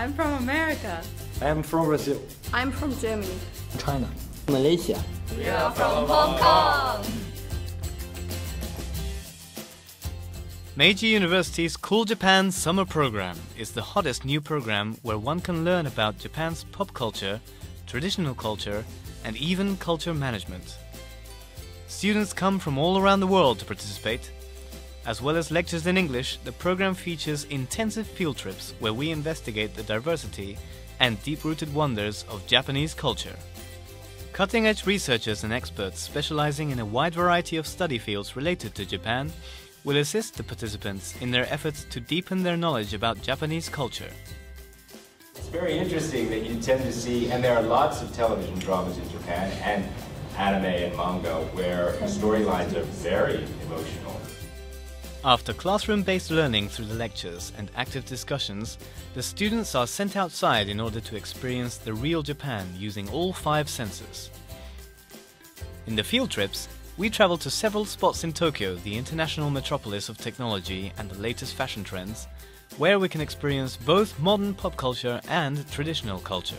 I'm from America. I'm from Brazil. I'm from Germany. China. Malaysia. We are from Hong Kong. Meiji University's Cool Japan Summer Program is the hottest new program where one can learn about Japan's pop culture, traditional culture, and even culture management. Students come from all around the world to participate. As well as lectures in English, the program features intensive field trips where we investigate the diversity and deep-rooted wonders of Japanese culture. Cutting-edge researchers and experts specializing in a wide variety of study fields related to Japan will assist the participants in their efforts to deepen their knowledge about Japanese culture. It's very interesting that you tend to see, and there are lots of television dramas in Japan and anime and manga where storylines are very emotional. After classroom-based learning through the lectures and active discussions, the students are sent outside in order to experience the real Japan using all 5 senses. In the field trips, we travel to several spots in Tokyo, the international metropolis of technology and the latest fashion trends, where we can experience both modern pop culture and traditional culture.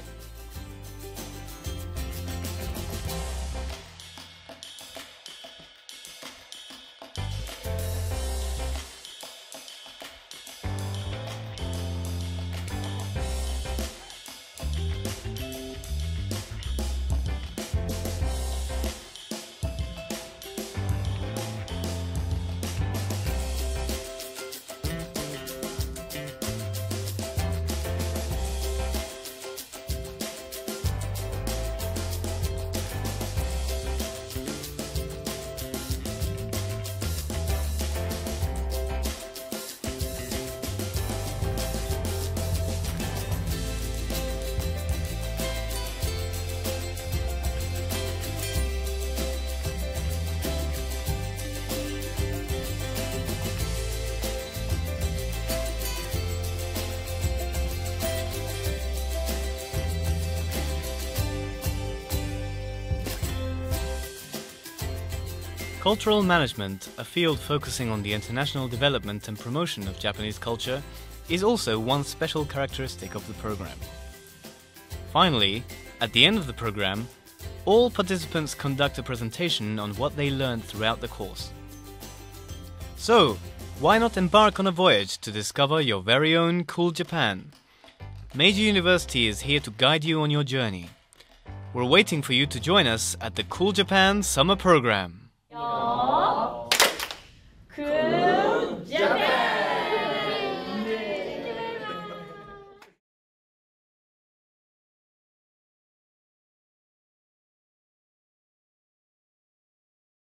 Cultural management, a field focusing on the international development and promotion of Japanese culture, is also one special characteristic of the program. Finally, at the end of the program, all participants conduct a presentation on what they learned throughout the course. So, why not embark on a voyage to discover your very own cool Japan? Meiji University is here to guide you on your journey. We're waiting for you to join us at the Cool Japan Summer Program.